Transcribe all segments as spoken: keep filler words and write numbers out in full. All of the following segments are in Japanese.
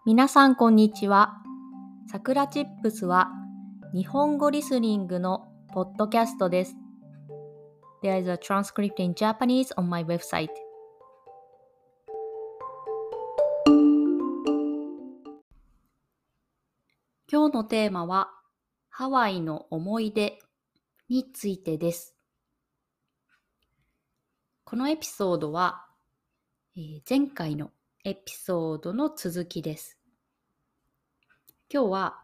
皆さんこんにちは。さくらチップスは日本語リスニングのポッドキャストです。There is a transcript in Japanese on my website. 今日のテーマはハワイの思い出についてです。このエピソードは、えー前回のエピソードの続きです。今日は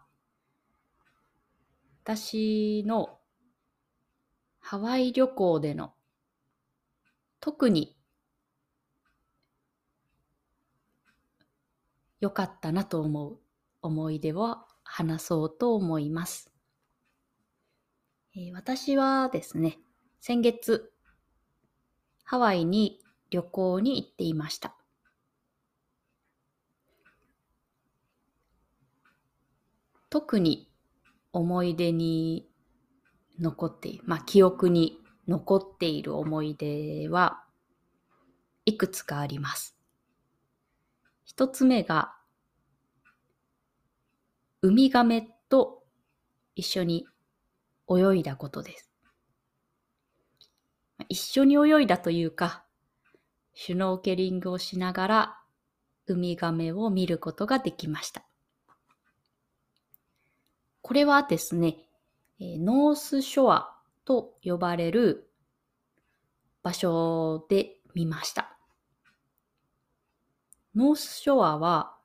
私のハワイ旅行での特に良かったなと思う思い出を話そうと思います。えー私はですね、先月ハワイに旅行に行っていました。特に思い出に残っている、まあ記憶に残っている思い出はいくつかあります。一つ目がウミガメと一緒に泳いだことです。一緒に泳いだというか、シュノーケリングをしながらウミガメを見ることができました。これはですね、えーノースショアと呼ばれる場所で見ました。ノースショアは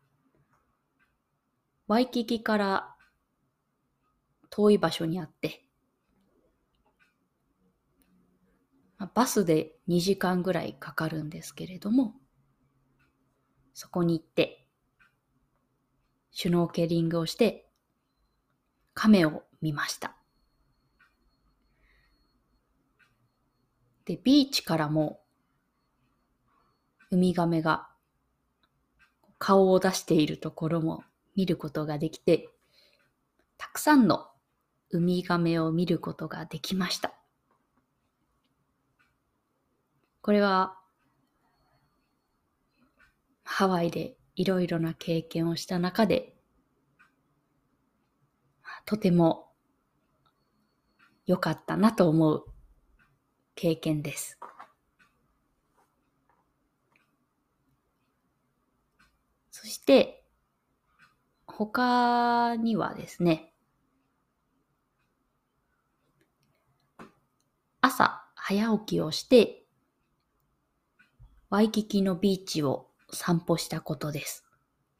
ワイキキから遠い場所にあって、まあバスでにじかんぐらいかかるんですけれども、そこに行ってシュノーケリングをしてカメを見ました。で、ビーチからもウミガメが顔を出しているところも見ることができて、たくさんのウミガメを見ることができました。これはハワイでいろいろな経験をした中で、とても良かったなと思う経験です。そして他にはですね、朝早起きをしてワイキキのビーチを散歩したことです。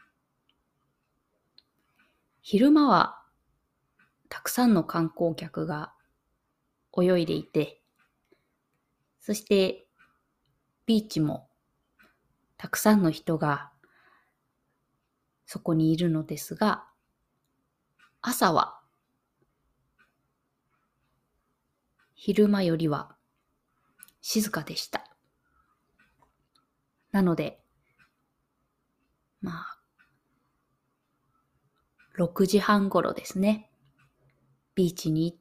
昼間はたくさんの観光客が泳いでいて、そしてビーチもたくさんの人がそこにいるのですが、朝は昼間よりは静かでした。なので、まあ、ろくじはん頃ですね、ビーチに行って、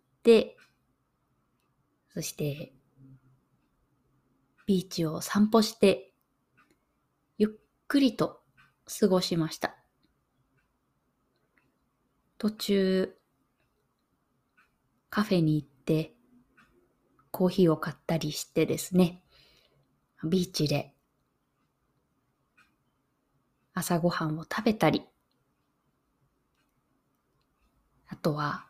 そしてビーチを散歩して、ゆっくりと過ごしました。途中、カフェに行って、コーヒーを買ったりしてですね、ビーチで朝ごはんを食べたり、あとは、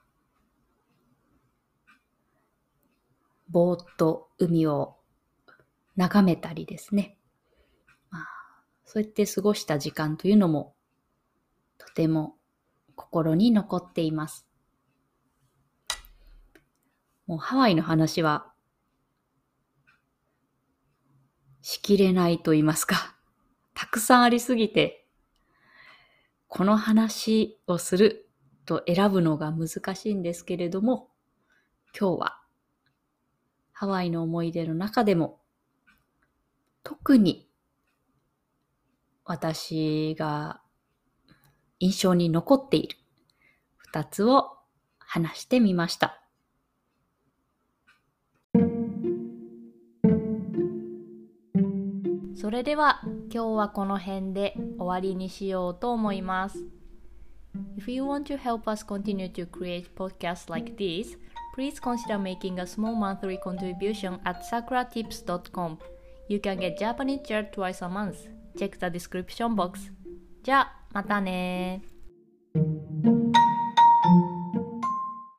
ぼーっと海を眺めたりですね。まあ、そうやって過ごした時間というのも、とても心に残っています。もうハワイの話は、しきれないと言いますか、たくさんありすぎて、この話をすると選ぶのが難しいんですけれども、今日はハワイの思い出の中でも特に私が印象に残っている二つを話してみました。 それでは今日はこの辺で終わりにしようと思います。If you want to help us continue to create podcasts like this, please consider making a small monthly contribution at sakura tips dot com. You can get Japanese chat twice a month. Check the description box. じゃあ、またね。